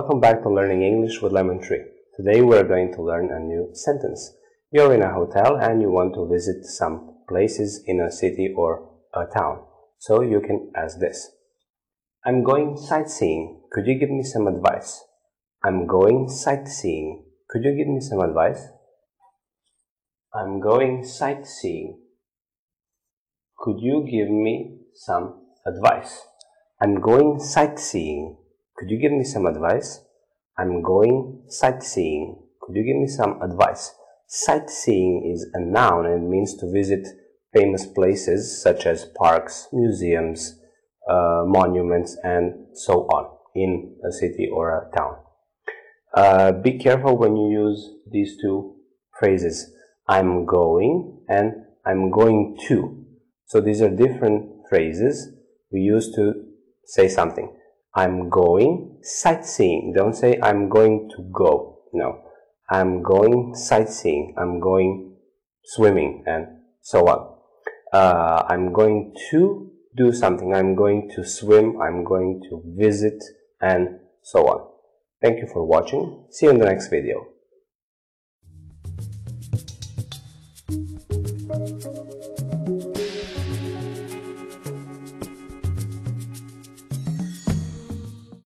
Welcome back to Learning English with Lemon Tree. Today we're going to learn a new sentence. You're in a hotel and you want to visit some places in a city or a town. So you can ask this. I'm going sightseeing. Could you give me some advice? I'm going sightseeing. Could you give me some advice? I'm going sightseeing. Could you give me some advice? I'm going sightseeing. Could you give me some advice? I'm going sightseeing. Could you give me some advice? Sightseeing is a noun and it means to visit famous places such as parks, museums, monuments, and so on in a city or a town. Be careful when you use these two phrases. I'm going and I'm going to. So these are different phrases we use to say something. I'm going sightseeing. Don't say I'm going to go. No. I'm going sightseeing. I'm going swimming and so on. I'm going to do something. I'm going to swim. I'm going to visit and so on. Thank you for watching. See you in the next video.